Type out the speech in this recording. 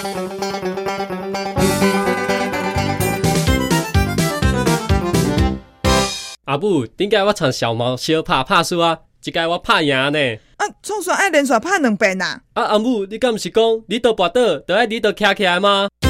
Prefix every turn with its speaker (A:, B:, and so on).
A: 阿母，顶解我唱小毛小拍输啊，这届我拍赢呢。
B: 啊，总算爱连续拍2遍啊！
A: 阿母，你敢毋是讲你倒跋倒，就爱你倒徛起来吗？